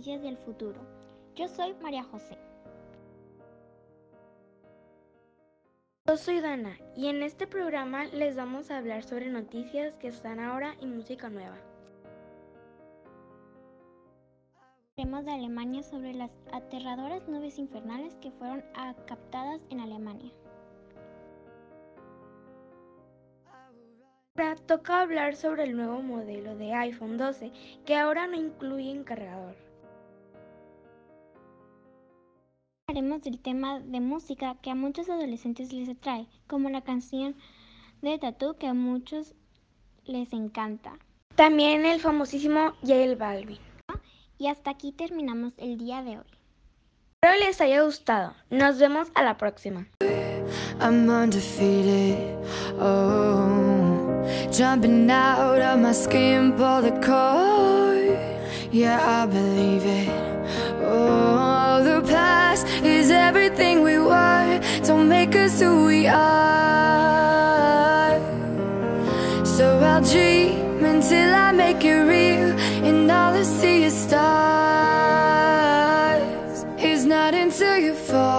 noticias del futuro. Yo soy María José. Yo soy Dana y en este programa les vamos a hablar sobre noticias que están ahora y música nueva. Hablaremos de Alemania sobre las aterradoras nubes infernales que fueron captadas en Alemania. Ahora toca hablar sobre el nuevo modelo de iPhone 12 que ahora no incluye cargador. Hablaremos del tema de música que a muchos adolescentes les atrae, como la canción de Tattoo que a muchos les encanta. También el famosísimo J Balvin. Y hasta aquí terminamos el día de hoy. Espero les haya gustado. Nos vemos a la próxima. I'm undefeated, oh, jumping out of my skin, pull the cord, yeah, I believe it, oh, the past is everything we were, don't make us who we are, so I'll dream until I make it real, and all I see is stars, it's not until you fall.